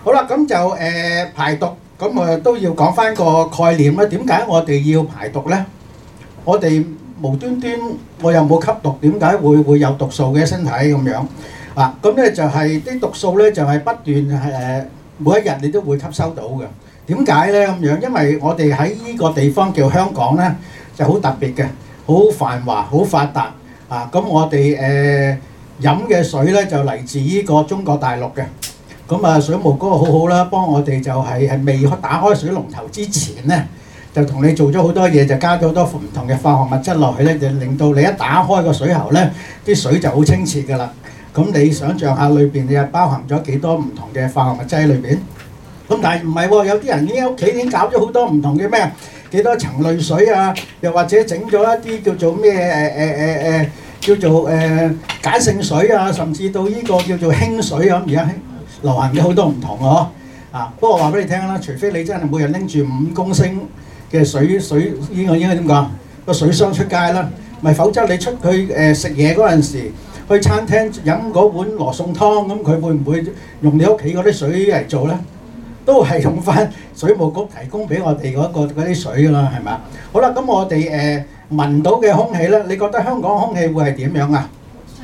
好啦，咁就排毒，咁都要講翻個概念啦。點解我哋要排毒呢？我哋無端端我又冇吸毒，點解會有毒素嘅身體咁樣？咁咧就係啲毒素咧就係不斷每一日你都會吸收到嘅。點解咧咁樣？因為我哋喺呢個地方叫香港咧，就好特別嘅，好繁華、好發達咁我哋飲嘅水咧就嚟自呢個中國大陸嘅。咁水務哥好好啦，幫我哋就係未打開水龍頭之前咧，就同你做咗好多嘢，就加咗好多唔同嘅化學物質落去咧，就令到你一打開個水喉咧，啲水就好清澈㗎啦。咁你想象下裏邊你又包含咗幾多唔同嘅化學物質喺裏邊？咁但係唔係喎，有啲人已經屋企已經搞咗好多唔同嘅咩？幾多層濾水啊？又或者整咗一啲叫做咩叫做鹼性水啊，甚至到呢個叫做氫水咁，而家流行嘅好多唔同啊！不過話俾你聽啦，除非你真係每日拎住5公升嘅水應該點講？個水箱出街啦，咪否則你出去食嘢嗰陣時，去餐廳飲嗰碗羅宋湯，咁佢會唔會用你屋企嗰啲水嚟做呢？都係用翻水務局提供俾我哋嗰啲水㗎啦，係咪？好啦，咁我哋聞到嘅空氣呢，你覺得香港空氣會係點樣啊？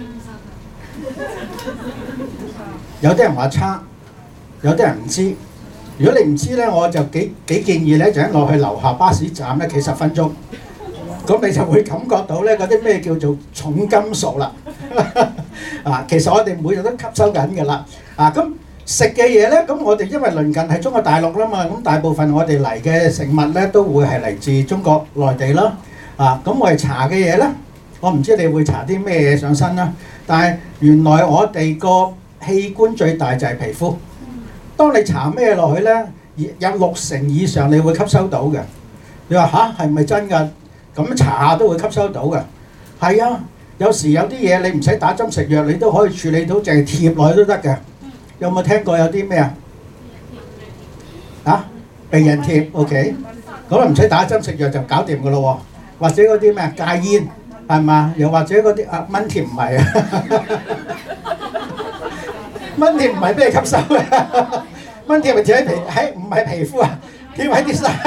有啲人話差，有啲人唔知。如果你唔知呢，我就幾建議呢，就一落去樓下巴士站呢，企10分鐘，咁你就會感覺到呢嗰啲咩叫做重金屬啦。其實我哋每日都吸收緊㗎啦。咁食嘅嘢呢，咁我哋因為鄰近係中國大陸啦嘛，咁大部分我哋嚟嘅食物呢，都會係嚟自中國內地啦。咁我哋搽嘅嘢呢，我唔知你會搽啲咩嘢上身啦。但係原來我哋個器官最大就係皮膚。當你搽咩落去呢，有60%以上你會吸收到嘅。你話吓，係咪真㗎？咁搽下都會吸收到嘅。係啊，有時有啲嘢你唔使打針食藥，你都可以處理到，淨係貼落去都得嘅。有冇聽過有啲咩啊？避孕貼 ，OK， 咁啊唔使打針食藥就搞掂㗎咯喎。或者嗰啲咩戒煙係嘛？又或者嗰啲蚊貼唔係啊？蚊貼唔係俾你吸收嘅，蚊貼咪貼喺唔係皮膚啊，貼喺啲衫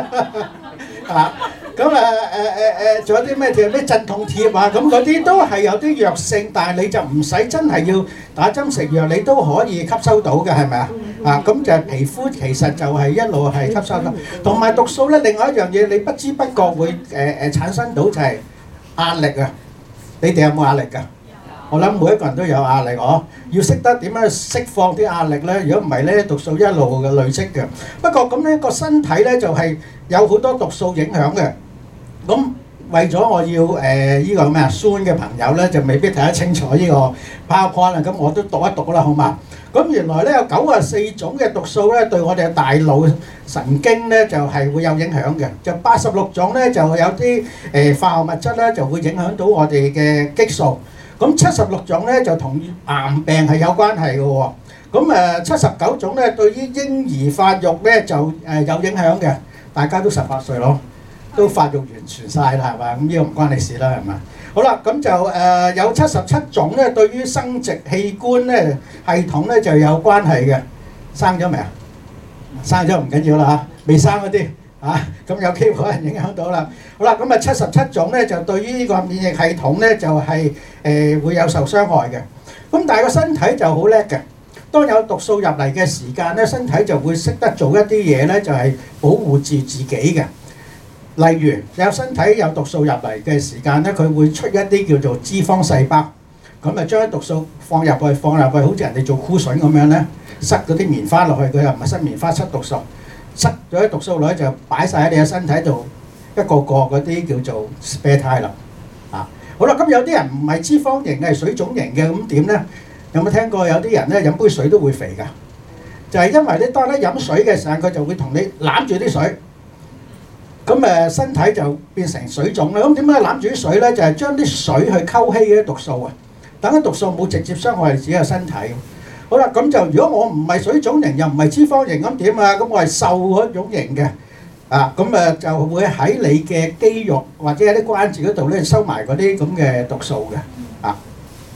咁仲有啲咩貼？咩鎮痛貼啊？咁嗰啲都係有啲藥性，但係你就唔使真係要打針食藥，你都可以吸收到嘅，係咪啊？咁就係皮膚其實就係一路係吸收到，同埋毒素咧。另外一樣嘢你不知不覺會產生到就係壓力啊！你哋有冇壓力㗎？我諗每一個人都有壓力，要識得點樣釋放啲壓力咧。如果唔係咧，毒素一路嘅累積嘅。不過咁咧，個身體咧就係有好多毒素影響嘅。咁為咗我要呢個咩酸嘅朋友咧，就未必睇得清楚呢個 PowerPoint 啦。咁我都讀一讀啦，好嘛？咁原來咧有94種嘅毒素咧，對我哋嘅大腦神經咧就係會有影響嘅。就86種咧就有啲化學物質咧就會影響到我哋嘅激素。咁76種咧就同癌病係有關係嘅喎。咁79種咧對於嬰兒發育咧就有影響嘅。大家都18歲咯，都發育完全晒啦，係嘛？咁呢個唔關你事啦，係嘛？好啦，咁就有77種咧對於生殖器官咧系統咧就有關係嘅。生咗未啊？生咗唔緊要啦嚇，未生嗰啲咁有機會可能影響到啦。好啦，咁77種咧就對於呢個免疫系統咧就係會有受傷害嘅。咁但係個身體就好叻嘅。當有毒素入嚟嘅時間咧，身體就會識得做一啲嘢咧，就係保護住自己嘅。例如有身體有毒素入嚟嘅時間咧，佢會出一啲叫做脂肪細胞，咁將啲毒素放入去，好似人哋做箍筍咁樣咧，塞嗰啲棉花落去，佢又唔係塞棉花，塞毒素。塞咗啲毒素落去就擺晒喺你嘅身體度，一個個嗰啲叫做 spare tire 啦。好啦，咁有啲人唔係脂肪型嘅，係水腫型嘅，咁點呢？有冇聽過有啲人咧飲杯水都會肥㗎？就係因為咧，當你飲水嘅時候，佢就會同你攬住啲水，咁身體就變成水腫啦。咁點解攬住啲水咧？就係將啲水去溝稀嗰啲毒素啊，等啲毒素冇直接傷害自己嘅身體。好啦，咁就如果我唔係水腫型，又唔係脂肪型，咁點啊？咁我係瘦嗰種型嘅，咁就會喺你嘅肌肉或者喺啲關節嗰度咧收埋嗰啲咁嘅毒素嘅，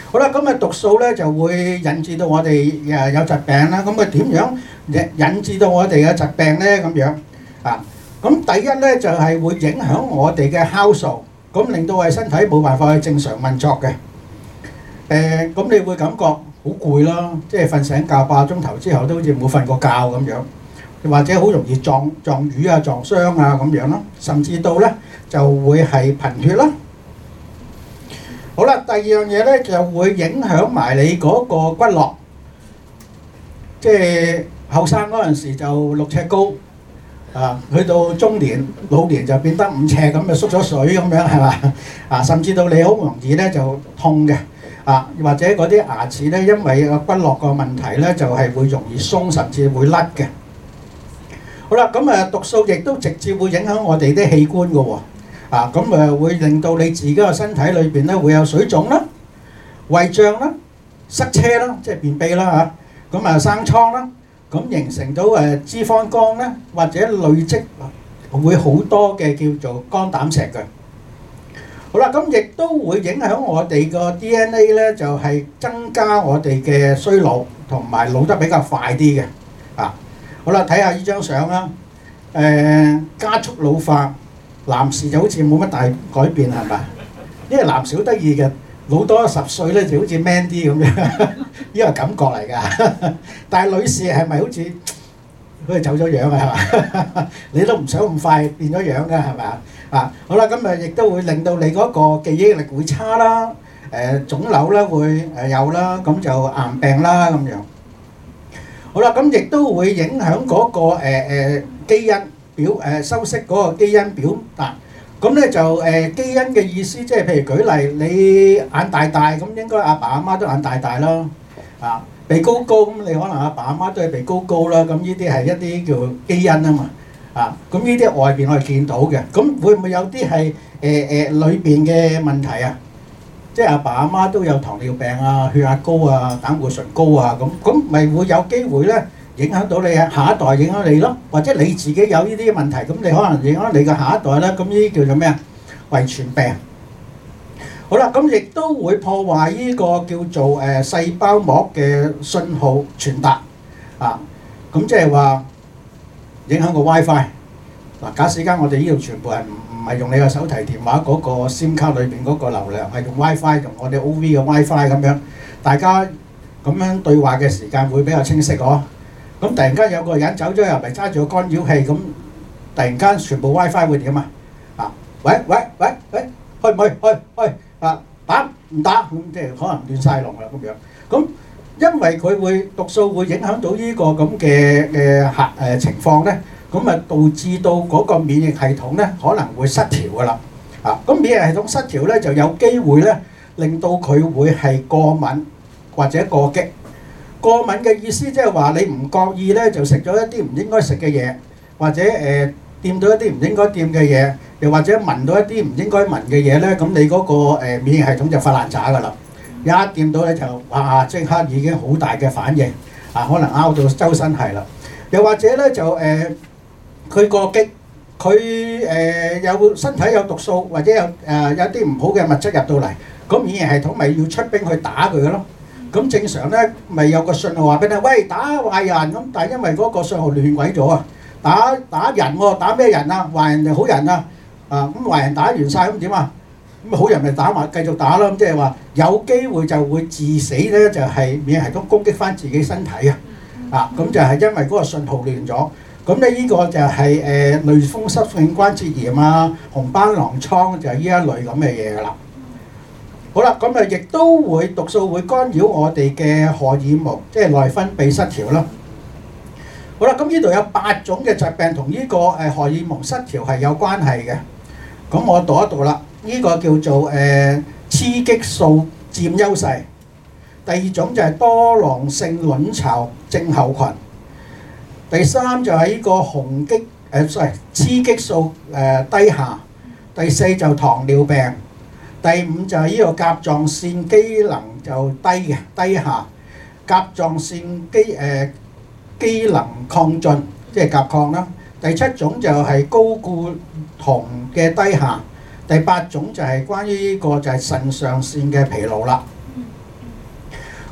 好啦，咁毒素咧就會引致到我哋有疾病啦。咁點樣引致到我哋嘅疾病咧？咁樣啊，咁第一咧就係會影響我哋嘅酵素，咁令到我哋身體冇辦法去正常運作嘅。咁你會感覺好攰啦，即係瞓醒覺8個鐘頭之後都好似冇瞓過覺咁樣，或者好容易撞瘀啊、撞傷啊咁樣咯，甚至到咧就會係貧血啦。好啦，第二樣嘢咧就會影響埋你嗰個骨骼，即係後生嗰陣時就6尺高，去到中年、老年就變得5尺咁，就縮咗水咁樣係嘛？甚至到你好容易咧就痛嘅。或者嗰啲牙齒咧，因為個骨骼個問題咧，就係會容易鬆，甚至會甩嘅。好啦，咁毒素亦都直接會影響我哋啲器官嘅喎。咁會令到你自己個身體裏邊咧會有水腫啦、胃脹啦、塞車啦，即係便秘啦嚇。咁生瘡啦，咁形成到脂肪肝咧，或者累積會好多嘅叫做肝膽石嘅。好啦，咁亦都會影響我哋個 DNA 咧，就係增加我哋嘅衰老，同埋老得比較快啲嘅。好啦，睇下呢張相啦。加速老化，男士就好似冇乜大改變係咪？因為男士好得意嘅，老多10歲咧就好似 man 啲咁樣，呢個感覺嚟㗎。但係女士係咪好似走咗樣啊？係嘛？你都唔想咁快變咗樣㗎係咪啊？好啦，咁亦都會令到你嗰個記憶力會差啦，腫瘤咧會有啦，咁就癌病啦咁樣。好啦，咁亦都會影響嗰個基因表修飾嗰個基因表達。咁咧就基因嘅意思，即係譬如舉例，你眼大大咁，應該阿爸阿媽都眼大大啦。鼻高高咁，你可能阿爸阿媽都係鼻高高啦。咁呢啲係一啲叫基因啊嘛。咁呢啲外邊我哋見到嘅，咁會唔會有啲係裏邊嘅問題啊？即係阿爸阿媽都有糖尿病啊、血壓高啊、膽固醇高啊，咁咪會有機會咧影響到你啊，下一代影響你咯，或者你自己有呢啲問題，咁你可能影響你嘅下一代咧，咁呢啲叫做咩啊？遺傳病。好啦，咁亦都會破壞呢個叫做細胞膜嘅信號傳達咁即係話影響個 WiFi。假使間我哋呢度全部係唔係用你個手提電話嗰個 SIM 卡裏邊嗰個流量，係用 WiFi，用我哋 OV 嘅 WiFi 咁樣，大家咁樣對話嘅時間會比較清晰嗬。咁突然間有個人走咗入嚟揸住個干擾器，咁突然間全部 WiFi 會點啊？喂，開唔開？打唔打？咁即係可能亂晒龍啦咁樣。咁因為佢會毒素會影響到呢個咁嘅情況咧。咁導致到嗰個免疫系統咧可能會失調㗎啦。咁免疫系統失調咧就有機會咧令到佢會係過敏或者過激。過敏嘅意思即係話你唔覺意咧就食咗一啲唔應該食嘅嘢，或者掂到一啲唔應該掂嘅嘢，又或者聞到一啲唔應該聞嘅嘢咧，咁你嗰個免疫系統就發爛渣㗎啦。一掂到咧就即刻已經好大嘅反應，可能拗到周身係啦。又或者咧就佢過激，佢有身體有毒素，或者有啲唔好嘅物質入到嚟，咁免疫系統咪要出兵去打佢嘅咯。咁正常咧咪有個信號話俾你，喂，打壞人咁，但係因為嗰個信號亂鬼咗啊，打人喎，打咩人啊？壞人定好人啊？咁壞人打完晒咁點啊？咁好人咪打埋繼續打咯。咁即係話有機會就會致死咧，就係免疫系統攻擊翻自己身體啊。咁就係因為嗰個信號亂咗。咁咧呢個就係類風濕性關節炎啊、紅斑狼瘡就係呢一類咁嘅嘢㗎啦。好啦，咁亦都會毒素會干擾我哋嘅荷爾蒙，即係內分泌失調啦。好啦，咁呢度有8種嘅疾病同呢個荷爾蒙失調係有關係嘅。咁我讀一讀啦，呢個叫做雌激素佔優勢。第2種就係多囊性卵巢症候群。第3就係呢個雌激素低下。第4就糖尿病。第5就係呢個甲狀腺機能就低下。甲狀腺機能亢進，即係甲亢啦。第7種就係高固酮嘅低下。第8種就係關於呢個就係腎上腺嘅疲勞啦。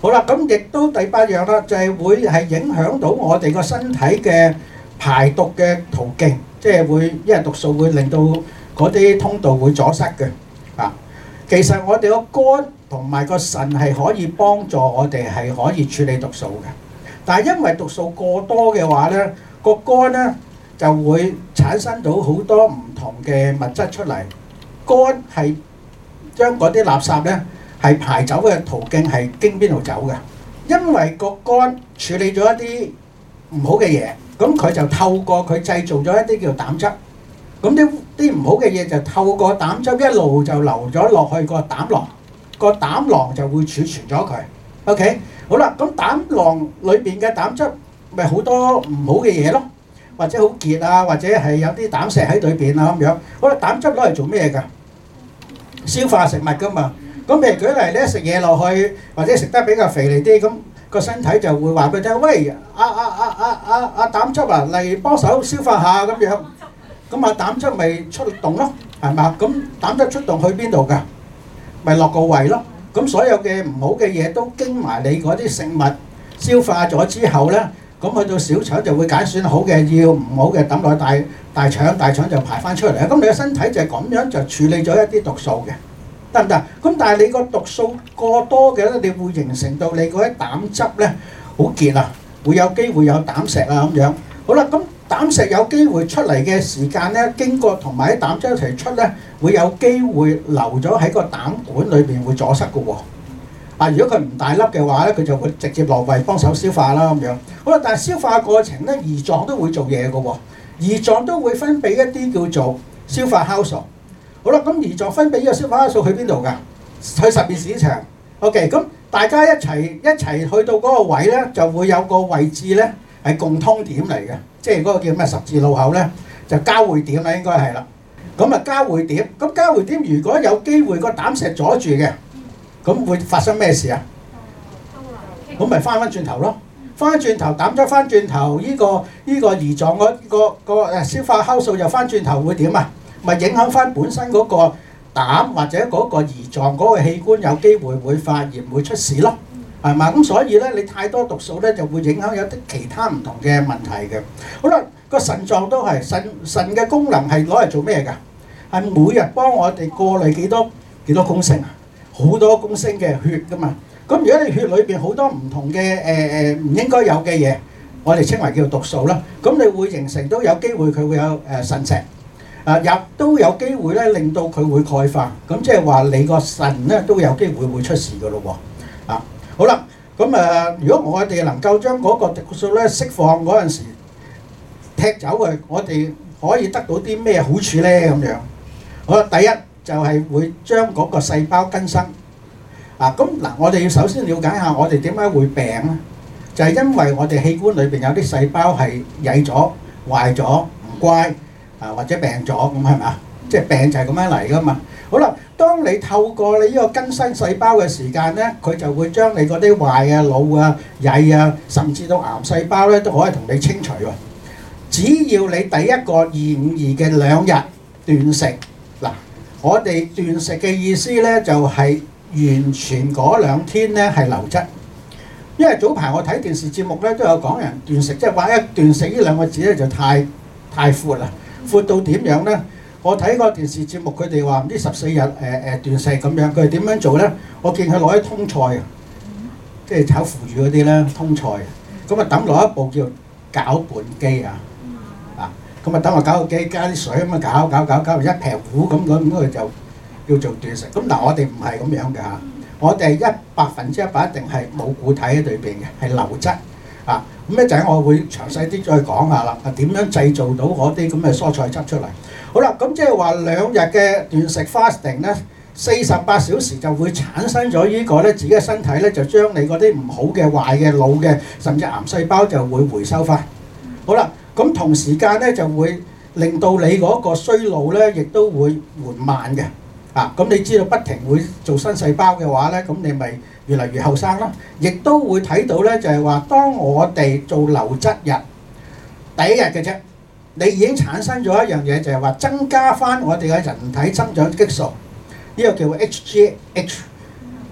好啦，咁亦都第八樣啦，就係會係影響到我哋個身體嘅排毒嘅途徑，即係會因為毒素會令到嗰啲通道會阻塞嘅。其實我哋個肝同埋個腎係可以幫助我哋係可以處理毒素嘅，但係因為毒素過多嘅話咧，個肝咧就會產生到好多唔同嘅物質出嚟。肝係將嗰啲垃圾咧係排走嘅途徑係經邊度走嘅？因為個肝處理咗一啲唔好嘅嘢，咁佢就透過佢製造咗一啲叫膽汁。咁啲唔好嘅嘢就透過膽汁一路就流咗落去個膽囊，個膽囊就會儲存咗佢。OK， 好啦，咁膽囊裏邊嘅膽汁咪好多唔好嘅嘢咯，或者好結啊，或者係有啲膽石喺裏邊啊咁樣。好啦，膽汁攞嚟做咩㗎？消化食物㗎嘛。咁譬如舉例咧，食嘢落去或者食得比較肥膩啲，咁個身體就會話俾佢聽：喂，膽汁啊，嚟幫手消化下咁樣。咁啊膽汁咪出動咯，係嘛？咁膽汁出動去邊度㗎？咪落個胃咯。咁所有嘅唔好嘅嘢都經埋你嗰啲食物消化咗之後咧，咁去到小腸就會揀選好嘅，要唔好嘅抌落大腸，大腸就排翻出嚟。咁你嘅身體就係咁樣就處理咗一啲毒素嘅，得唔得？咁但係你個毒素過多嘅咧，你會形成到你嗰啲膽汁咧好結啊，會有機會有膽石啊咁樣。好啦，咁膽石有機會出嚟嘅時間咧，經過同埋啲膽汁一齊出咧，會有機會留咗喺個膽管裏邊，會阻塞嘅喎。如果佢唔大粒嘅話咧，佢就會直接落胃幫手消化啦咁樣。好啦，但係消化過程咧，胰臟都會做嘢嘅喎，胰臟都會分泌一啲叫做消化酵素。好啦，咁胰臟分泌呢個消化酵素去邊度㗎？去十二指腸。OK， 咁大家一齊去到嗰個位咧，就會有個位置咧係共通點嚟嘅，即係嗰個叫咩十字路口咧，就交匯點啦，應該係啦。咁啊交匯點，咁交匯點如果有機會個膽石阻住嘅，咁會發生咩事啊？咁咪翻轉頭咯，翻轉頭膽汁翻轉頭，呢個胰臟個消化酵素又翻轉頭會點啊？咪影響翻本身嗰個膽或者嗰個胰臟嗰個器官有機會會發炎會出事咯，係嘛？咁所以咧，你太多毒素咧就會影響有啲其他唔同嘅問題嘅。好啦，個腎臟都係腎嘅功能係攞嚟做咩㗎？係每日幫我哋過濾幾多公升啊？好多公升嘅血㗎嘛。咁如果你血裏邊好多唔同嘅唔應該有嘅嘢，我哋稱為叫毒素啦。咁你會形成都有機會佢會有腎石。又都有機會咧，令到佢會鈣化，咁即係話你個腎咧都有機會出事㗎咯喎。好啦，咁如果我哋能夠將嗰個毒素咧釋放嗰陣時踢走佢，我哋可以得到啲咩好處咧？咁樣，好啦，第一就係會將嗰個細胞更新。咁嗱，我哋要首先了解下我哋點解會病咧？就係因為我哋器官裏邊有啲細胞係曳咗、壞咗、唔乖。或者病咗咁係咪啊？即係病就係咁樣嚟㗎嘛。好啦，當你透過你呢個更新細胞嘅時間咧，佢就會將你嗰啲壞啊、老啊、曳啊，甚至到癌細胞咧都可以同你清除喎。只要你第一個252嘅2日斷食，嗱，我哋斷食嘅意思咧就係完全嗰2天咧係流質。因為早排我睇電視節目咧都有講人斷食，即係話一斷食呢2個字咧就太闊啦。闊到點樣咧？我睇個電視節目，佢哋話唔知14日斷食咁樣，佢哋點樣做咧？我見佢攞啲通菜啊，即係炒腐乳嗰啲咧通菜，咁啊抌落一部叫攪拌機啊，咁啊抌落攪拌機加啲水咁啊攪一劈糊咁佢就叫做斷食。咁嗱，我哋唔係咁樣嘅嚇，我哋係100%一定係冇固體喺裏邊嘅，係流質。咁一陣我會詳細啲再講下啦。點樣製造到嗰啲咁嘅蔬菜汁出嚟？好啦，咁即係話2日嘅斷食 fasting 咧，48小時就會產生咗呢個咧，自己嘅身體咧就將你嗰啲唔好嘅、壞嘅、老嘅，甚至癌細胞就會回收翻。好啦，咁同時間咧就會令到你嗰個衰老咧，亦都會緩慢嘅。咁你知道不停會做新細胞嘅話咧，咁你咪越嚟越後生啦。亦都會睇到咧，就係話當我哋做流質日第1日嘅啫，你已經產生咗一樣嘢，就係話增加翻我哋嘅人體增長激素，呢個叫 HGH。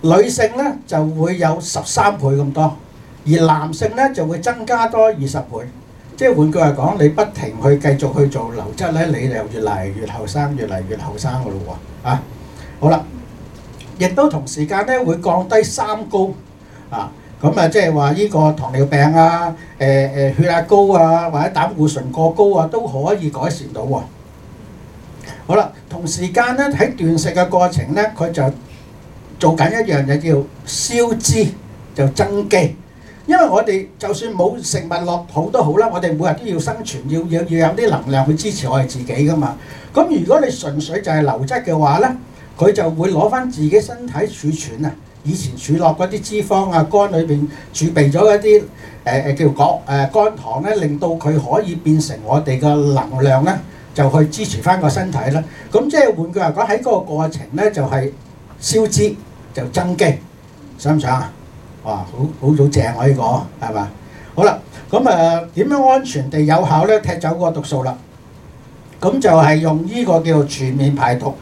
女性咧就會有13倍咁多，而男性咧就會增加多20倍。即係換句話講，你不停去繼續去做流質咧，你就越嚟越後生，越嚟越後生㗎咯喎啊！好啦，亦都同時間咧會降低三高啊，咁啊即係話呢個糖尿病啊、血壓高啊，或者膽固醇過高啊，都可以改善到喎。好啦，同時間咧喺斷食嘅過程咧，佢就做緊一樣嘢叫消脂，就增肌。因為我哋就算冇食物落肚都好啦，我哋每日都要生存，要有啲能量去支持我哋自己噶嘛。咁如果你純粹就係流質嘅話咧，佢就會攞翻自己身體儲存啊，以前儲落嗰啲脂肪啊，肝裏邊儲備咗一啲叫肝糖咧，令到佢可以變成我哋嘅能量咧，就去支持翻個身體啦。咁即係換句話講，喺嗰個過程咧就係消脂就增肌，想唔想啊？哇，好正啊！呢個係嘛？好啦，咁點樣安全地有效咧踢走嗰個毒素啦？咁就係用呢個叫做全面排毒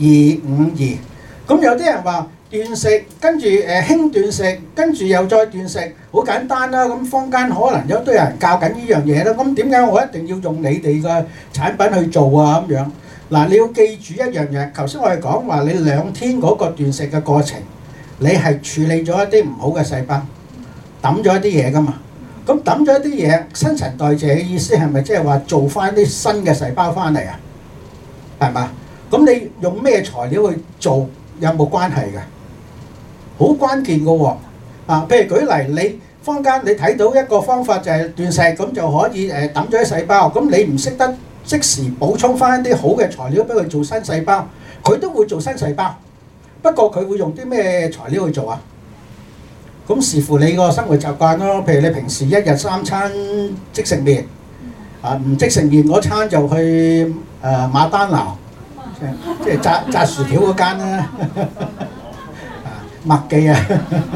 252。咁有啲人話斷食，跟住輕斷食，跟住又再斷食，好簡單啦。咁坊間可能有堆人教緊呢樣嘢啦。咁點解我一定要用你哋嘅產品去做啊？咁樣嗱，你要記住一樣嘢。頭先我哋講話你2天嗰個斷食嘅過程。你係處理咗一啲唔好嘅細胞，抌咗一啲嘢噶嘛？咁抌咗一啲嘢，新陳代謝嘅意思係咪即係話做翻啲新嘅細胞翻嚟啊？係嘛？咁你用咩材料去做有冇關係嘅？好關鍵嘅喎！啊，譬如舉例，你坊間你睇到一個方法就係斷食，咁就可以抌咗啲細胞。咁你唔識得即時補充翻一啲好嘅材料俾佢做新細胞，佢都會做新細胞。不過佢會用啲咩材料去做啊？咁視乎你個生活習慣咯。譬如你平時1日3餐即食麵，唔即食麵嗰餐就去馬丹娜，即係炸薯條嗰間啦，麥記啊，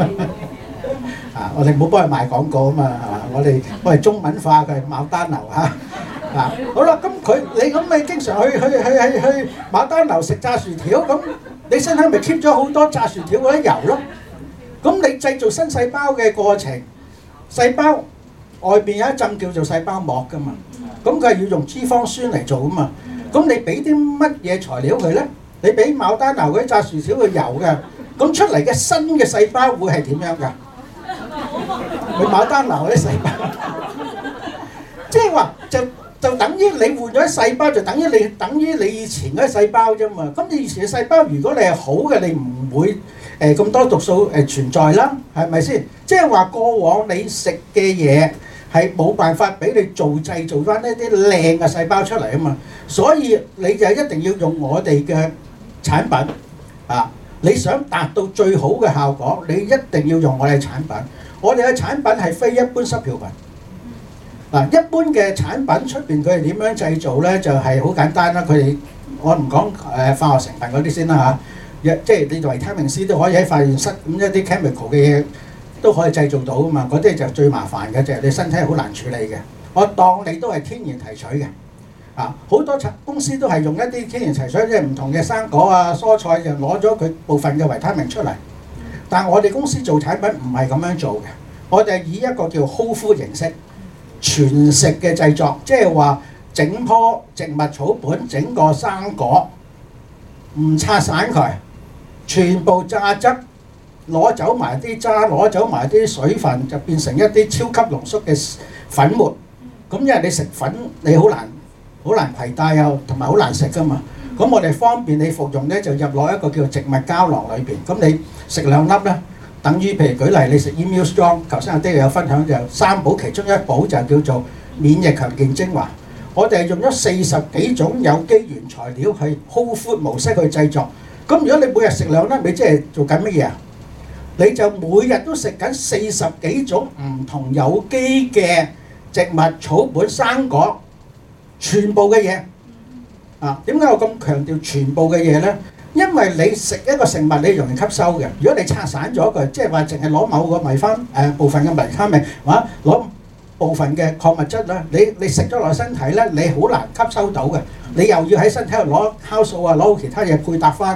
我哋唔好幫佢賣廣告啊嘛，我哋中文化佢係馬丹娜嚇。好啦，咁你經常去馬丹娜食炸薯條，咁你身體咪 keep 咗好多炸薯條嗰啲油咯？咁你製造新細胞嘅過程，細胞外邊有一浸叫做細胞膜噶嘛，咁佢係要用脂肪酸嚟做噶嘛。咁你俾啲乜嘢材料佢咧？你俾馬丹娜嗰啲炸薯條嘅油嘅，咁出嚟嘅新嘅細胞會係點樣㗎？佢馬丹娜嗰啲細胞，即係話就等於你換咗啲細胞，就等於你以前嗰啲細胞啫嘛。咁你以前嘅細胞，如果你係好嘅，你唔會咁多毒素存在啦，係咪先？即係話過往你食嘅嘢係冇辦法俾你製造翻一啲靚嘅細胞出嚟啊嘛。所以你就一定要用我哋嘅產品啊！你想達到最好嘅效果，你一定要用我哋產品。我哋嘅產品係非一般濕票品。嗱，一般嘅產品出邊佢哋點樣製造咧？就係好簡單啦。佢哋我唔講化學成分嗰啲先啦嚇，即係你維他命 C 都可以喺化驗室咁一啲 chemical 嘅嘢都可以製造到噶嘛。嗰啲就最麻煩嘅，就係你身體好難處理嘅。我當你都係天然提取嘅，好多公司都係用一啲天然提取，即係唔同嘅生果啊、蔬菜就攞咗佢部分嘅維他命出嚟。但係我哋公司做產品唔係咁樣做嘅，我哋係以一個叫 whole food 形式。全食嘅製作，即係話整棵植物草本，整個生果，唔拆散佢，全部榨汁，攞走埋啲渣，攞走埋啲水分，就變成一啲超級濃縮嘅粉末。咁因為你食粉，你好難攜帶啊，同埋好難食噶嘛。咁我哋方便你服用咧，就入落一個叫植物膠囊裏邊。咁你食2粒咧。等於譬如舉例，你食 Immune Strong， 頭先阿爹有分享就3寶其中1寶就叫做免疫強健精華。我哋係用咗40幾種有機原材料係 whole food 模式去製作。咁如果你每日食2粒，你即係做緊乜嘢啊？你就每日都食緊40幾種唔同有機嘅植物草本生果，全部嘅嘢。點解我咁強調全部嘅嘢咧？因為你食一個食物，你容易吸收嘅。如果你拆散咗佢，即係話淨係攞某個部分嘅維他命，或者攞部分嘅礦物質啦，你食咗落身體咧，你好難吸收到嘅。你又要喺身體度攞酵素啊，攞其他嘢配搭翻，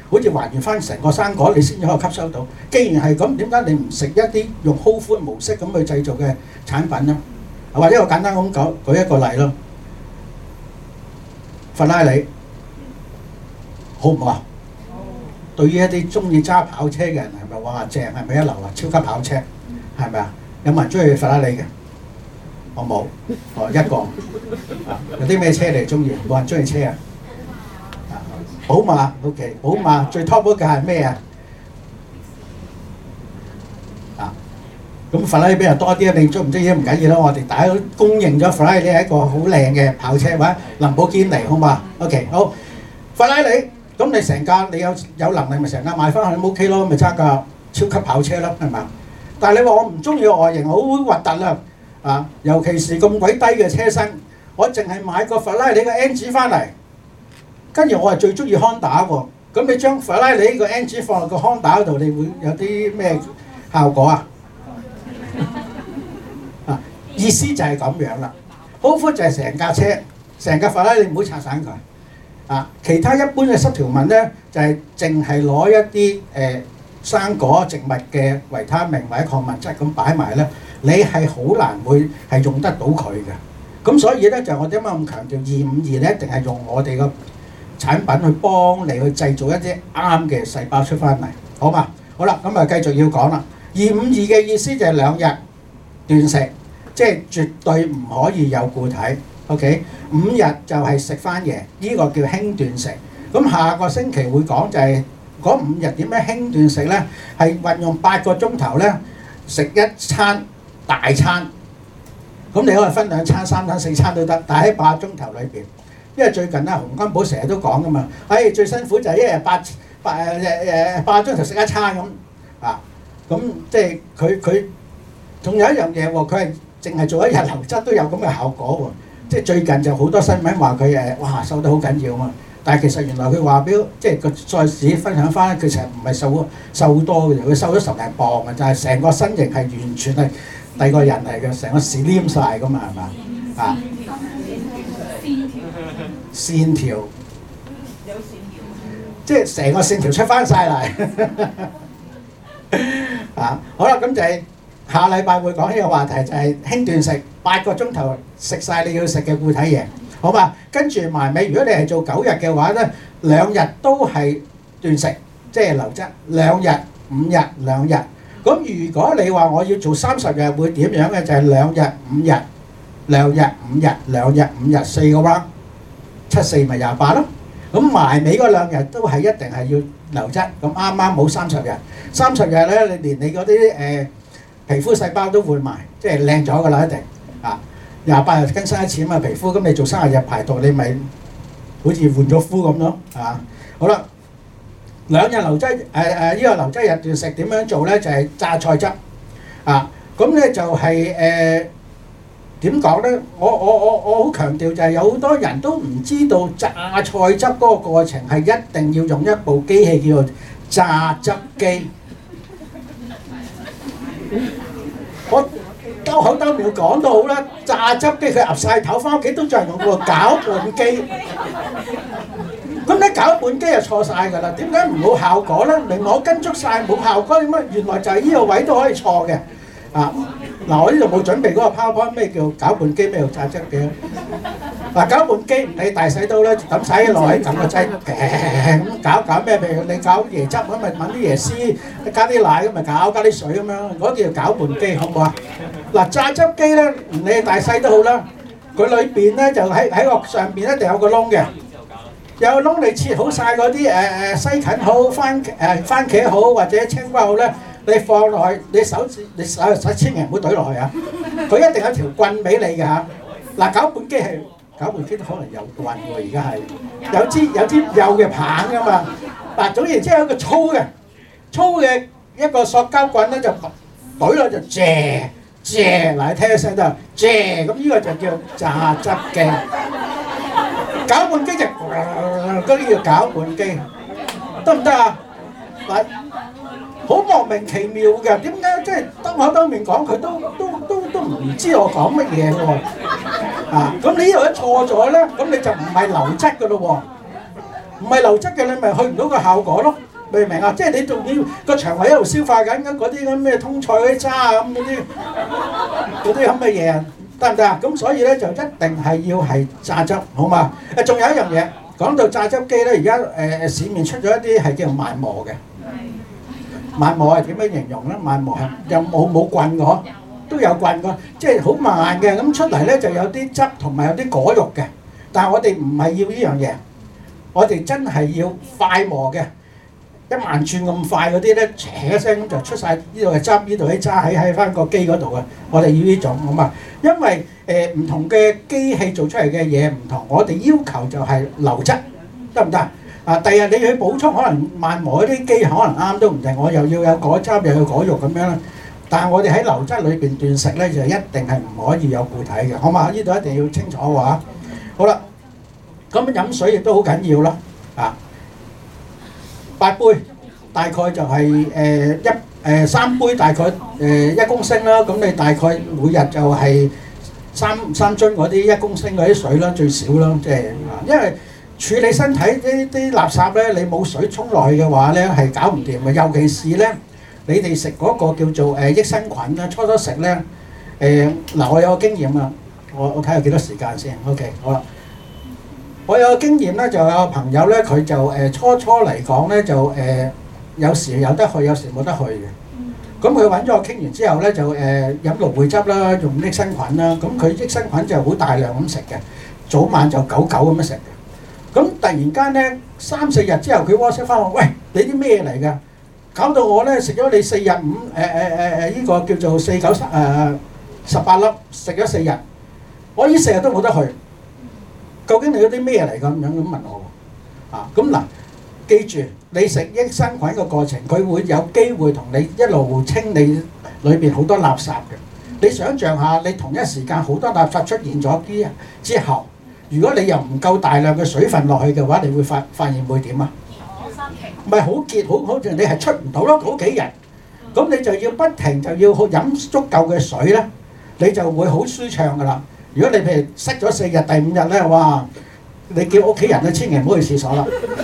好似還原翻成個生果，你先至可以吸收到。既然係咁，點解你唔食一啲用 whole food 模式咁去製造嘅產品呢？或者我簡單咁舉一個例咯，法拉利好唔好啊？對於一啲中意揸跑車嘅人係咪哇正？係咪一流啊？超級跑車係咪啊？有冇人中意法拉利嘅？我冇，一個。有啲咩車你中意？冇人中意車啊？寶馬 OK， 寶馬最 top 嗰架係咩啊？咁法拉利比較多啲，你中唔中意都唔緊要啦。我哋大家都公認咗法拉利係一個好靚嘅跑車，或者林寶堅尼好嘛 ？OK 好，法拉利咁你成架你有能力咪成架買翻去咁 OK 咯，咪揸架超級跑車咯，係嘛？但係你話我唔中意外形，好核突啦啊！尤其是咁鬼低嘅車身，我淨係買個法拉利嘅 engine 翻嚟，跟住我係最中意 Honda 喎。咁你將法拉利個 engine 放落個 Honda 度，你會有啲咩效果啊？意思就係咁樣啦。好闊就係成架車，成架法拉利唔好拆散佢。其他一般嘅濕條紋咧，就係淨係攞一啲生果植物嘅維他命或者礦物質咁擺埋咧，你係好難會係用得到佢嘅。咁所以咧就我點解咁強調252咧，一定係用我哋個產品去幫你去製造一啲啱嘅細胞出翻嚟，好嘛？好啦，咁啊繼續要講啦。252嘅意思就係2日斷食。即係絕對唔可以有固體 ，OK？ 5日就係食翻嘢，呢個叫輕斷食。咁下個星期會講就係嗰5日點樣輕斷食咧？係運用8個鐘頭咧食一餐大餐。咁你可以分2餐、3餐、4餐都得，但係喺8個鐘頭裏邊，因為最近咧洪金寶成日都講噶嘛，最辛苦就係一日8個鐘頭食一餐咁啊。咁即係佢仲有一樣嘢喎，佢係淨係做一日流質都有咁嘅效果喎，即係最近就好多新聞話佢哇瘦得好緊要嘛，但係其實原來佢話俾即係個再自己分享翻，佢其實唔係瘦好多嘅，佢瘦咗10零磅嘅，就係成個身形係完全係第二個人嚟嘅，成個屎黏曬噶嘛，係嘛啊？線條有線條，即係成個線條出翻曬嚟好啦，咁就係。下禮拜會講呢個話題，就係輕斷食8個鐘頭食曬你要食嘅固體嘢，好嘛？跟住埋尾，如果你係做9日嘅話咧，2日都係斷食，即係流質，2日、5日、2日。咁如果你話我要做30日會點樣嘅？就係2日、5日、2日、5日、2日、5日4個 round， 7、4咪28咯。咁埋尾嗰2日都係一定係要流質，咁啱啱冇30日。30日咧，你連你嗰啲皮膚細胞都換埋，即係靚咗㗎啦，一定28日更新一次嘛皮膚，咁你做30日排毒，你咪好似換咗膚咁咯，好啦，2日流質呢個流質日斷食點樣做咧？就係榨菜汁咁咧就係點講咧？我好強調就係有好多人都唔知道榨菜汁嗰個過程係一定要用一部機器叫做榨汁機。我兜口兜面講到好啦，榨汁機佢岌曬頭，翻屋企都仲係用個攪拌機。咁你攪拌機就錯曬㗎啦，點解唔冇效果咧？明明我跟足曬冇效果，點解原來就係呢個位都可以錯嘅嗱，我呢度冇準備嗰個 PowerPoint， 咩叫攪拌機，咩叫榨汁機攪拌機唔理大細刀咧，抌晒啲落去，撳個掣，咁搞咩？譬如你搞椰汁咁，咪揾啲椰絲，加啲奶咁咪搞，加啲水咁樣，嗰叫攪拌機，好唔好啊？嗱，榨汁機咧，唔理大細都好啦，佢裏邊咧就喺個上邊一定有個窿嘅，有個窿你切好晒嗰啲西芹好、番茄好或者青瓜好咧。你放落去，你手千祈唔好懟落去佢一定有條棍俾你嘅嗱，攪拌機都可能有棍喎，而家係有支幼嘅棒㗎嘛。嗱，總言之有一個粗嘅一個塑膠棍咧，就懟落就嗱，你聽一聲都係咁呢個就叫榨汁機。攪拌機就嗰啲叫攪拌機，得唔得啊？嗱。好莫名其妙嘅，點解即係兜口兜面講佢都唔知我講乜嘢嘅喎？咁你呢度一錯咗咧，咁你就唔係流質嘅咯喎。 唔係流質嘅你咪去唔到個效果咯，明唔明啊？即係你仲要個腸胃喺度消化緊嗰啲咁咩通菜嗰啲渣啊咁嗰啲咁嘅嘢，得唔得啊？咁所以咧就一定係要係榨汁，好嘛？仲有一樣嘢，講到榨汁機咧，而家市面出咗一啲係叫做慢磨嘅。慢磨係點樣形容咧？慢磨係又冇棍嘅嗬，都有棍嘅，即係好慢嘅，咁出嚟咧就有啲汁同埋有啲果肉嘅。但係我哋唔係要呢樣嘢，我哋真係要快磨嘅，1萬轉咁快嗰啲咧，唰一聲咁就出晒，呢度係汁，呢度啲渣喺翻個機嗰度嘅。我哋要呢種好嘛？因為唔同嘅機器做出嚟嘅嘢唔同，我哋要求就係流質，得唔得？啊！第日你去補充，可能慢磨嗰啲機可能啱都唔定，我又要有果汁又要果肉咁樣啦。但係我哋喺流質裏邊斷食咧，就一定係唔可以有固體嘅，好嘛？呢度一定要清楚嘅話。好啦，咁飲水亦都好緊要啦。啊，8杯大概就係3杯大概1公升啦。咁你大概每日就係三樽嗰啲1公升嗰啲水啦，最少啦，即係因為處理身體啲垃圾咧，你冇水沖落去嘅話咧，係搞唔掂嘅。尤其是咧，你哋食嗰個叫做益生菌啦，初食咧嗱，我有個經驗啊，我睇下幾多時間先。OK， 好啦，我有個經驗咧，就有個朋友咧，佢就初嚟講咧，就有時有得去，有時冇得去嘅。咁佢揾咗我傾完之後咧，就飲蘆薈汁啦，用益生菌啦。咁佢益生菌就好大量咁食嘅，早晚就9咁樣食。咁突然間咧，3、4日之後，佢 WhatsApp 翻我，喂，你啲咩嚟㗎？搞到我咧食咗你4日呢個叫做4、9、18粒，食咗4日，我呢4日都冇得去。究竟你嗰啲咩嚟㗎？咁問我喎。啊，咁嗱，記住你食益生菌嘅過程，佢會有機會同你一路清理裏邊好多垃圾嘅。你想象下，你同一時間好多垃圾出現咗之後。如果你又唔夠大量嘅水分落去嘅話，你會發現會點啊？唔係好結，好似你係出唔到咯，好幾日。咁你就要不停就要飲足夠嘅水咧，你就會好舒暢噶啦。如果你譬如塞咗4日，第5日咧，哇！你叫屋企人咧，千祈唔好去廁所啦。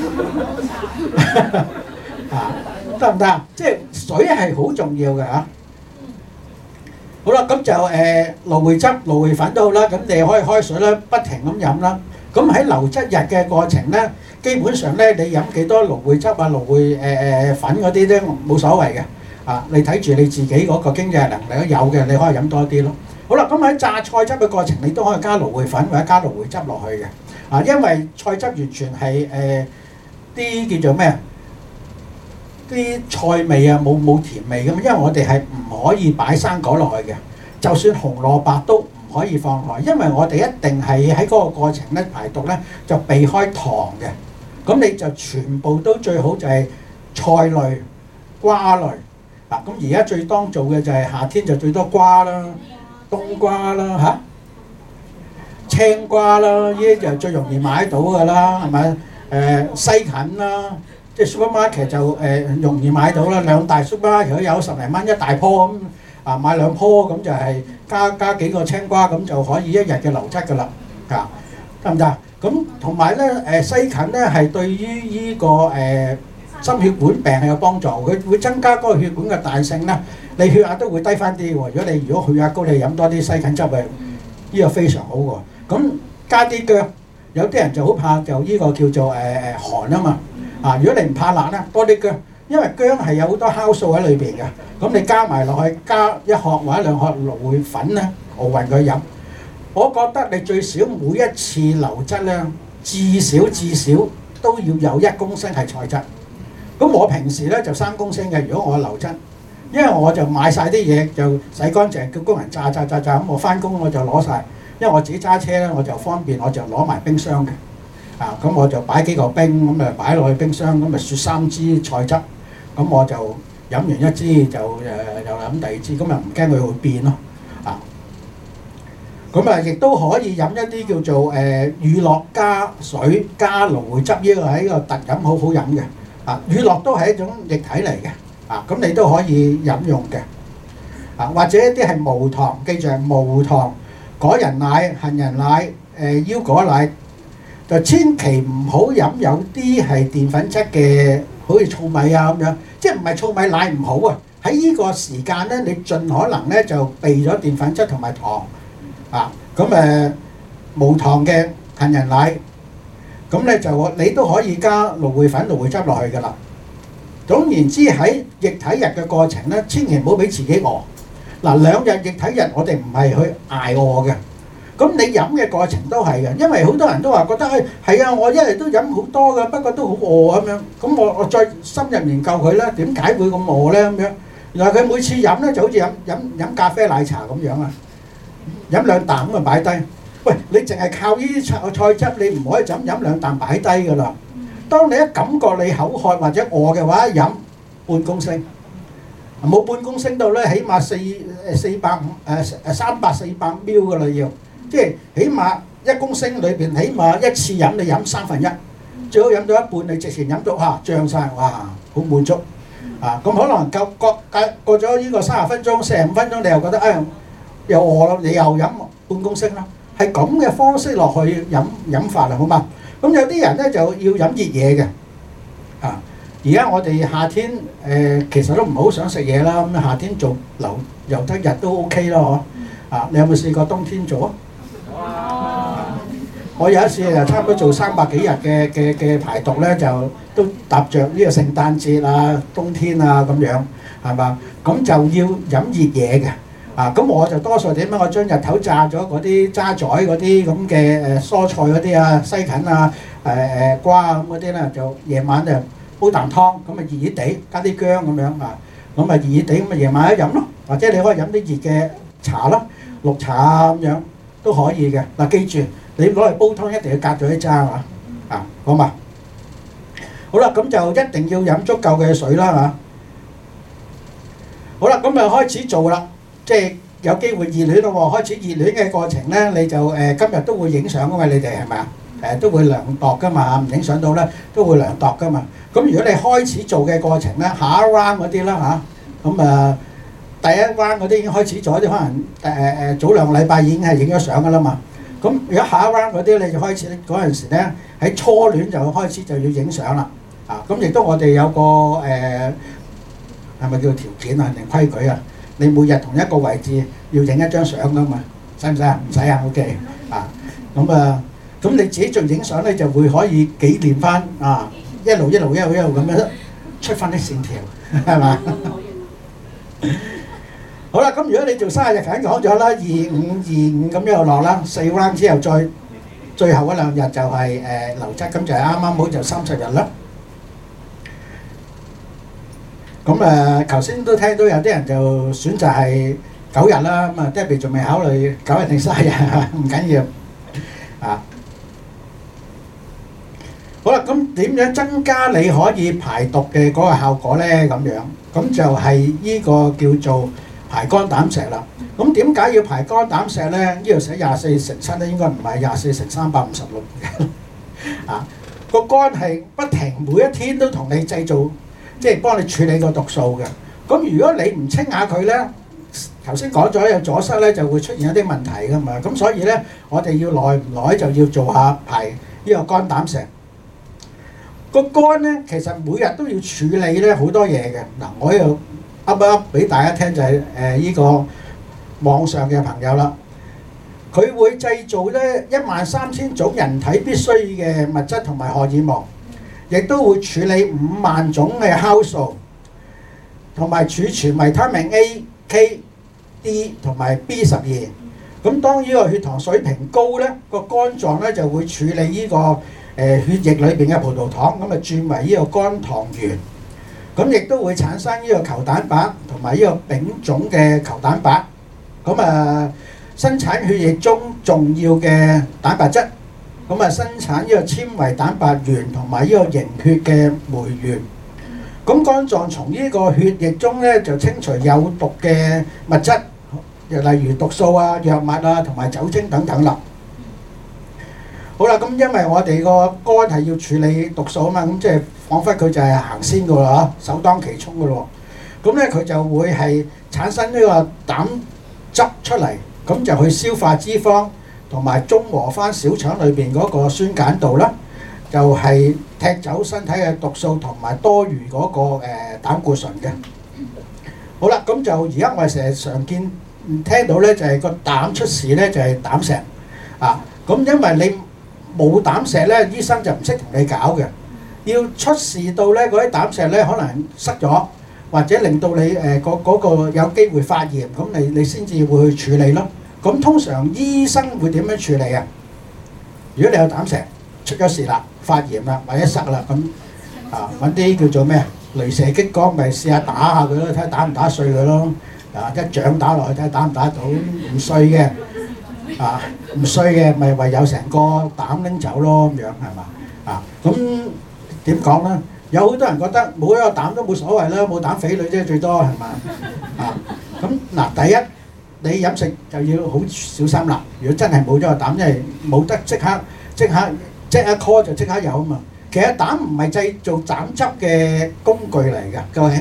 啊，得唔得啊？即係水係好重要嘅嚇。好啦，咁就蘆薈汁、蘆薈粉都好啦，咁你可以開水啦，不停咁飲啦。咁喺流質日嘅過程咧，基本上咧你飲幾多蘆薈汁啊、蘆薈粉嗰啲咧冇所謂嘅。啊，你睇住你自己嗰個經濟能力都有嘅，你可以飲多啲咯。好啦，咁喺榨菜汁嘅過程，你都可以加蘆薈粉或者加蘆薈汁落去嘅。啊，因為菜汁完全係啲叫做咩啊？啲菜味啊，冇甜味咁，因為我哋係唔可以擺生果落去嘅，就算紅蘿蔔都唔可以放落去，因為我哋一定係喺嗰個過程咧排毒咧就避開糖嘅，咁你就全部都最好就係菜類、瓜類嗱，咁而家最當做嘅就係夏天就最多瓜啦、冬瓜啦嚇、青瓜啦，呢啲就最容易買到㗎啦，係咪？西芹啦。即係 supermarket 就容易買到啦，2大 supermarket 都有10零蚊一大棵咁啊，買2棵咁就係加幾個青瓜咁就可以1日嘅流質㗎啦，啊得唔得？咁同埋咧西芹咧係對於呢個心血管病係有幫助，佢會增加嗰個血管嘅彈性咧，你血壓都會低翻啲喎。如果血壓高，你飲多啲西芹汁啊，呢個非常好喎。咁加啲薑，有啲人就好怕就呢個叫做寒啊嘛。啊！如果你唔怕辣咧，多啲薑，因為薑係有好多酵素喺裏邊嘅。咁你加埋落去，加1殼或者2殼蘆薈粉咧，熬勻佢飲。我覺得你最少每一次流質咧，至少都要有1公升係菜汁。咁我平時咧就3公升嘅。如果我流質，因為我就買晒啲嘢就洗乾淨，叫工人炸咁，我翻工我就攞晒。因為我自己揸車咧，我就方便，我就攞埋冰箱嘅。啊，咁我就擺幾個冰，咁擺落去冰箱，咁雪3支菜汁，咁我就飲完1支就又飲第2支，咁又唔驚佢會變咯。啊，咁啊亦都可以飲一啲叫做乳酪加水加蘆薈汁，呢個係一個特飲，好好飲嘅。啊，乳酪都係一種液體嚟嘅。啊，咁你都可以飲用嘅。啊，或者一啲係無糖，記住係無糖，果仁奶、杏仁奶、腰果奶。 就千祈唔好飲有啲係澱粉質嘅，好似糙米啊咁樣，即係唔係糙米奶唔好啊？喺呢個時間咧，你盡可能咧就避咗澱粉質同埋糖啊。咁無糖嘅杏仁奶，咁咧就你都可以加蘆薈粉、蘆薈汁落去㗎啦。總言之，喺液體日嘅過程咧，千祈唔好俾自己餓。嗱，2日液體日我哋唔係去捱餓嘅。咁你飲嘅過程都係嘅，因為好多人都話覺得係啊，我一日都飲好多㗎，不過都好餓咁樣。咁我再深入研究佢啦，點解會咁餓咧咁樣？原來佢每次飲咧就好似飲咖啡奶茶咁樣啊，飲2啖咁就擺低。喂，你淨係靠呢啲菜汁，你唔可以就咁飲2啖擺低㗎啦。當你一感覺你口渴或者餓嘅話，飲半公升，冇半公升到咧，起碼300-400 ml 㗎啦要。即係起碼1公升裏邊，起碼一次飲你飲1/3，最好飲到一半，你直情飲到脹晒，哇，好滿足啊！咁可能過咗呢個30分鐘、45分鐘，你又覺得又餓啦，你又飲半公升啦，係咁嘅方式落去飲法啦，好嘛？咁有啲人咧就要飲熱嘢嘅啊！而家我哋夏天其實都唔好想食嘢啦，咁夏天做游得日都 OK 咯，嗬啊！你有冇試過冬天做啊？我有一次就差唔多做300幾日嘅排毒咧，就都搭着呢個聖誕節啊、冬天啊咁樣，係嘛？咁就要飲熱嘢嘅啊！咁我就多數點樣？我將日頭炸咗嗰啲渣仔嗰啲咁嘅蔬菜嗰啲啊、西芹啊、瓜啊咁嗰啲咧，就夜晚就煲啖湯，咁啊熱熱地加啲薑咁樣啊，咁啊熱熱地咁啊夜晚一飲咯，或者你可以飲啲熱嘅茶啦、綠茶啊咁樣都可以嘅。嗱，記住。你攞嚟煲湯一定要隔咗啲渣啊，好嘛？好啦，咁就一定要飲足夠嘅水啦嚇。好啦，咁就開始做啦，即係有機會熱戀咯喎。開始熱戀嘅過程咧，你就今日都會影相噶嘛？你哋係咪啊？都會量度噶嘛，唔影相到咧都會量度噶嘛。咁如果你開始做嘅過程咧，下一 round 嗰啲啦嚇，咁第一 round 嗰啲已經開始做，啲可能早2個禮拜已經係影咗相噶啦嘛。咁如果下一 round 嗰啲你就開始嗰陣時咧，喺初戀就開始就要影相啦。啊，咁亦都我哋有個係咪叫條件啊定規矩啊？你每日同一個位置要影一張相噶嘛？使唔使啊？唔使啊 ，OK。啊，咁你自己做影相咧就會可以紀念翻啊，一路咁樣出翻啲線條，係嘛？好啦，咁如果你做生日就已經講咗啦，25咁樣落啦，4 round 之後再最後嗰2日就係流質，咁就係啱啱好就30日啦。咁頭先都聽到有啲人就選擇係9日啦，咁Debbie仲未考慮9日定30日，唔緊要啊。好啦，咁點樣增加你可以排毒嘅嗰個效果咧？咁樣咁就係呢個叫做排肝膽石啦。咁點解要排肝膽石咧？呢度寫24×7咧，應該唔係24×356嘅。啊，個肝係不停每一天都同你製造，即係幫你處理個毒素嘅。咁如果你唔清下佢咧，頭先講咗有阻塞咧，就會出現一啲問題噶嘛。咁所以咧，我哋要耐唔耐就要做下排呢個肝膽石。個肝咧，其實每日都要處理咧好多嘢嘅。嗱，我又噏一噏俾大家聽，就係呢個網上嘅朋友啦。佢會製造咧13000種人體必須嘅物質同埋荷爾蒙，亦都會處理5萬種嘅酵素，同埋儲存維他命 A、K、D 同埋 B12。咁當呢個血糖水平高咧，個肝臟咧就會處理呢個血液裏邊嘅葡萄糖，咁啊轉為呢個肝糖原，咁亦都會產生呢個球蛋白同埋呢個丙種嘅球蛋白，咁生產血液中重要嘅蛋白質，咁生產呢個纖維蛋白原同埋呢個凝血嘅酶原。咁肝臟從呢個血液中咧就清除有毒嘅物質，例如毒素啊、藥物啊同埋酒精等等啦。好啦，咁因為我哋個肝係要處理毒素啊嘛，咁即係彷彿佢就係行先噶啦嚇，首當其衝噶咯。咁咧佢就會係產生呢個膽汁出嚟，咁就去消化脂肪， 同埋中和翻小腸裏邊嗰個酸鹼度啦，就係踢走身體嘅毒素同埋多餘嗰個膽固醇嘅。好啦，咁就而家我哋成日常見聽到咧，就係個膽出事咧，就係膽石啊。咁因為你冇膽石咧，醫生就唔識同你搞嘅。要出事到咧，嗰啲膽石咧可能塞咗，或者令到你嗰個有機會發炎，咁你先至會去處理咯。咁通常醫生會點樣處理啊？如果你有膽石出咗事啦，發炎啦，或者塞啦，咁揾啲叫做咩啊？雷射激光咪試下打下佢咯，睇下打唔打碎佢咯。一掌打落去睇下打唔打到，唔碎嘅唔碎嘅咪唯有成個膽拎走咯，咁樣係嘛？咁點講咧？有好多人覺得冇一個膽都冇所謂啦，冇膽匪類啫，最多係嘛？咁嗱，第一你飲食就要好小心啦。如果真係冇咗個膽，因為冇得即刻 call 就即刻有啊嘛。其實膽唔係製造膽汁嘅工具嚟㗎，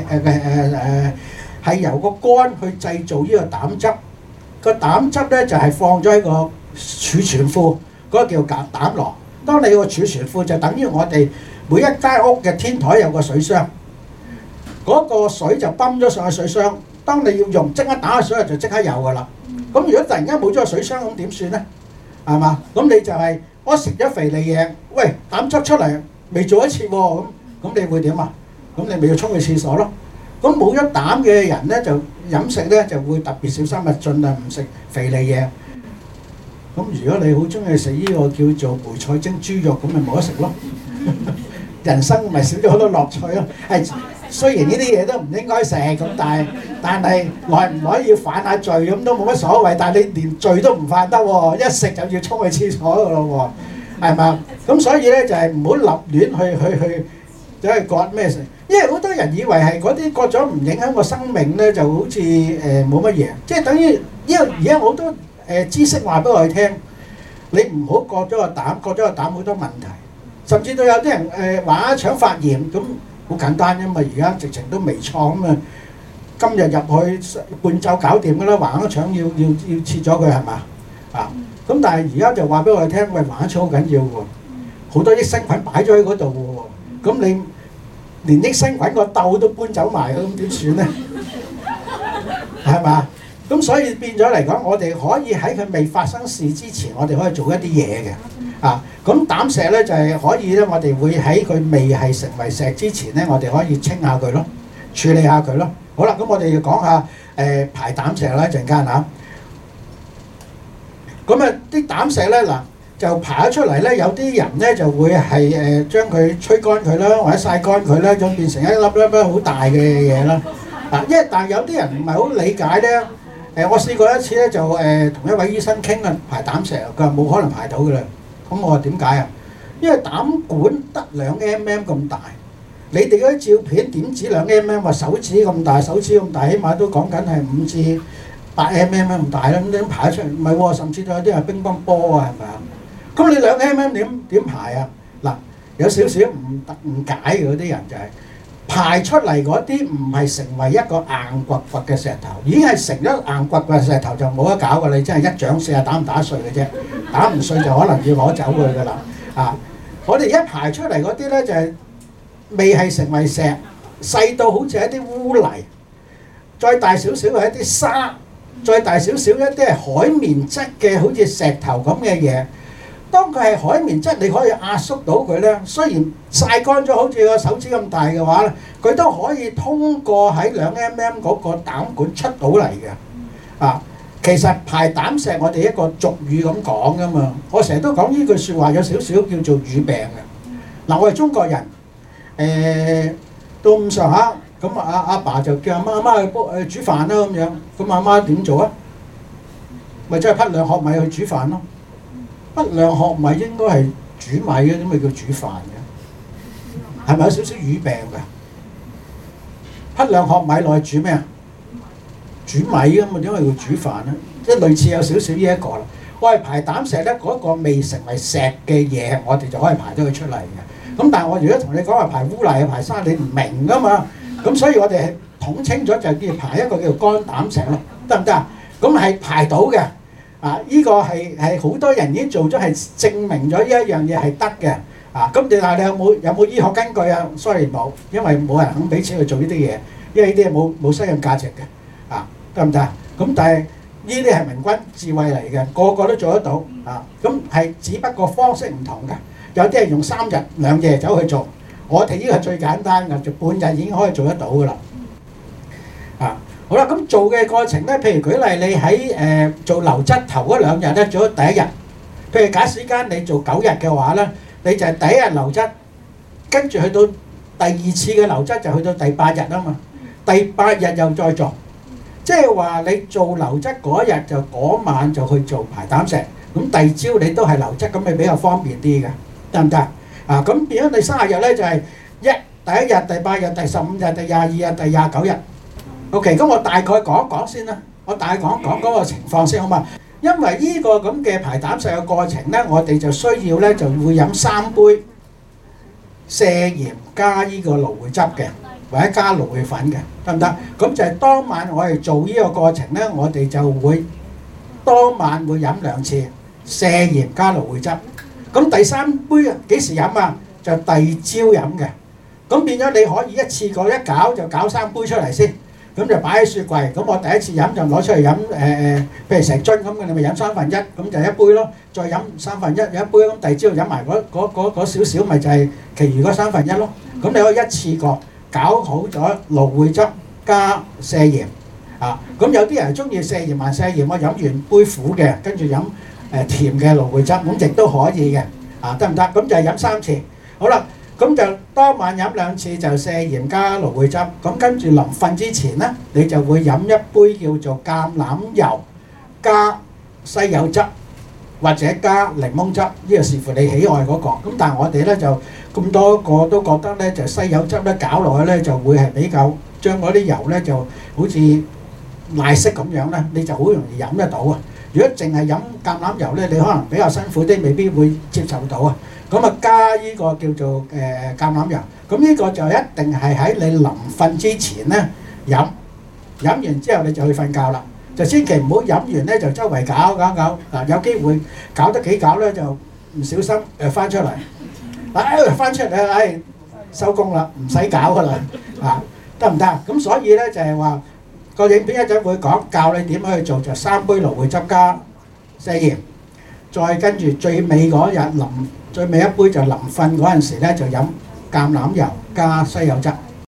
係由個肝去製造呢個膽汁。個膽汁咧就係放咗喺個儲存庫，嗰個叫膽囊。當你個儲存庫就等於我哋每一間屋嘅天台有個水箱，嗰個水就泵咗上去水箱。當你要用，即刻打下水就即刻有㗎啦。咁如果突然間冇咗個水箱，咁點算咧？係嘛？咁你就係我食咗肥膩嘢，喂，膽汁出嚟未做一次喎，咁你會點啊？咁你咪要沖去廁所咯。咁冇咗膽嘅人咧，就飲食咧就會特別小心啊，盡量唔食肥膩嘢。咁如果你好中意食呢個叫做梅菜蒸豬肉，咁咪冇得食咯。人生咪少咗好多樂趣咯。係雖然呢啲嘢都唔應該食咁，但係耐唔耐要犯下罪咁都冇乜所謂。但係你連罪都唔犯得喎，一食就要沖去廁所噶咯喎，係嘛？咁所以咧就係唔好立亂去走去割咩食，因為好多人以為係嗰啲割咗唔影響個生命咧，就好似冇乜嘢，即係等於因為而家好多知識話俾我哋聽，你唔好割咗個膽，割咗個膽好多問題，甚至到有啲人橫腸發炎咁。好簡單啫嘛，而家直情都微創咁啊！今日入去半晝搞掂㗎啦，橫腸要切咗佢係嘛？咁但係而家就話俾我哋聽，喂，橫腸好緊要喎，好多益生菌擺咗喺嗰度喎，咁你連益生菌個竇都搬走埋，咁點算咧？係嘛？咁所以變咗嚟講，我哋可以喺佢未發生事之前，我哋可以做一啲嘢嘅。咁膽石咧就係可以咧，我哋會喺佢未係成為石之前咧，我哋可以清下佢咯，處理下佢咯。好啦，咁我哋要講下排膽石啦，一陣間嚇。咁啊啲膽石咧嗱就排咗出嚟咧，有啲人咧就會係將佢吹乾佢啦，或者曬乾佢啦，咁變成一粒粒好大嘅嘢啦。因為但係有啲人唔係好理解咧。我試過一次咧，就同一位醫生傾啊，排膽石，佢話冇可能排到㗎啦。咁我話點解啊？因為膽管得2mm 咁大，你哋嗰啲照片點止2mm，話手指咁大，手指咁大，起碼都講緊係5至8mm 咁大啦。咁點排得出嚟？唔係喎，甚至有啲係乒乓波啊，係咪啊？咁你2mm點排啊？嗱，有少少誤解嘅嗰啲人就係排出嚟嗰啲唔係成為一個硬掘掘嘅石頭，已經係成咗硬掘掘嘅石頭就冇得搞㗎，你真係一掌試下打唔打碎嘅啫，打唔碎就可能要攞走佢㗎啦。我哋一排出嚟嗰啲咧就係未係成為石，細到好似一啲污泥，再大少少係一啲沙，再大少少一啲係海綿質嘅好似石頭咁嘅嘢。當佢係海綿質，你可以壓縮到佢咧。雖然曬乾咗好似個手指咁大嘅話咧，佢都可以通過喺2mm嗰個膽管出到嚟嘅。其實排膽石我哋一個俗語咁講噶嘛。我成日都講呢句説話有少少叫做語病嘅。嗱，我係中國人，到咁上下咁阿爸就叫阿媽去煮飯啦咁樣。咁阿媽點做啊？咪真係匹2殼米去煮飯咯。匹2殼米應該係煮米嘅，點解叫煮飯嘅？係咪有少少語病㗎？匹2殼米落去煮咩啊？煮米㗎嘛，點解要煮飯咧？即係類似有少少呢一個啦。我係排膽石咧，嗰個未成為石嘅嘢，我哋就可以排到佢出嚟嘅。咁但係我如果同你講話排污泥、排沙，你唔明㗎嘛？咁所以我哋係統稱咗就叫排一個叫做乾膽石咯，得唔得啊？咁係排到嘅。 呢個係好多人已經做咗，係證明咗呢一樣嘢係得嘅。咁但係你有冇醫學根據啊？sorry 冇，因為冇人肯俾錢去做呢啲嘢，因為呢啲係冇商業價值嘅。得唔得？咁但係呢啲係明君智慧嚟嘅，個個都做得到。咁係只不過方式唔同嘅，有啲係用3日2夜走去做，我哋呢個係最簡單嘅，就半日已經可以做得到㗎啦。好啦，咁做嘅過程咧，譬如舉例，你喺做流質頭嗰2日咧，做咗第1日，譬如假使間你做9日嘅話咧，你就係第1日流質，跟住去到第2次嘅流質就去到第8日啊嘛，第8日又再做，即係話你做流質嗰1日就嗰晚就去做排膽石，咁第2朝你都係流質，咁咪比較方便啲嘅，得唔得？咁變咗你30日咧就係第1日、第8日、第15日、第22日、第29日。OK， 咁我大概講一講先啦，我大概講講嗰個情況先好嘛？因為呢個咁嘅排膽石嘅過程咧，我哋就需要咧就會飲3杯瀉鹽加呢個蘆薈汁嘅，或者加蘆薈粉嘅，得唔得？咁就係當晚我哋做呢個過程咧，我哋就會當晚會飲2次瀉鹽加蘆薈汁。咁第3杯幾時飲啊？就第2朝飲嘅。咁變咗你可以一次過一攪就攪3杯出嚟先。咁就擺喺雪櫃，咁我第一次飲就攞出嚟飲，譬如成樽咁嘅，你咪飲1/3，咁就1杯咯。再飲1/3有1杯，咁第2朝飲埋嗰少少，咪就係其餘嗰1/3咯。咁你可以一次過搞好咗蘆薈汁加瀉鹽。咁有啲人中意瀉鹽還瀉鹽，我飲完杯苦嘅，跟住飲甜嘅蘆薈汁，咁亦都可以嘅。得唔得？咁就係飲3次。好啦。咁就當晚飲2次就瀉鹽加蘆薈汁，咁跟住臨瞓之前咧，你就會飲一杯叫做橄欖油加西柚汁或者加檸檬汁，呢個視乎你喜愛嗰個。咁但係我哋咧就咁多個都覺得咧就西柚汁咧搞落去咧就會係比較將嗰啲油咧就好似奶昔咁樣咧，你就好容易飲得到啊！如果淨係飲橄欖油咧，你可能比較辛苦啲，未必會接受到啊。咁啊加呢個叫做橄欖油，咁呢個就一定係喺你臨瞓之前咧飲，飲完之後你就去瞓覺啦，就千祈唔好飲完咧就周圍搞，有機會搞得幾搞咧就唔小心翻出嚟，翻出嚟收工啦，唔使搞噶啦，得唔得？咁所以咧就係話個影片一陣會講教你點去做，就3杯蘆薈汁加瀉鹽，再跟住最尾嗰日最尾一杯就臨瞓嗰陣時咧就飲橄欖油加西柚汁。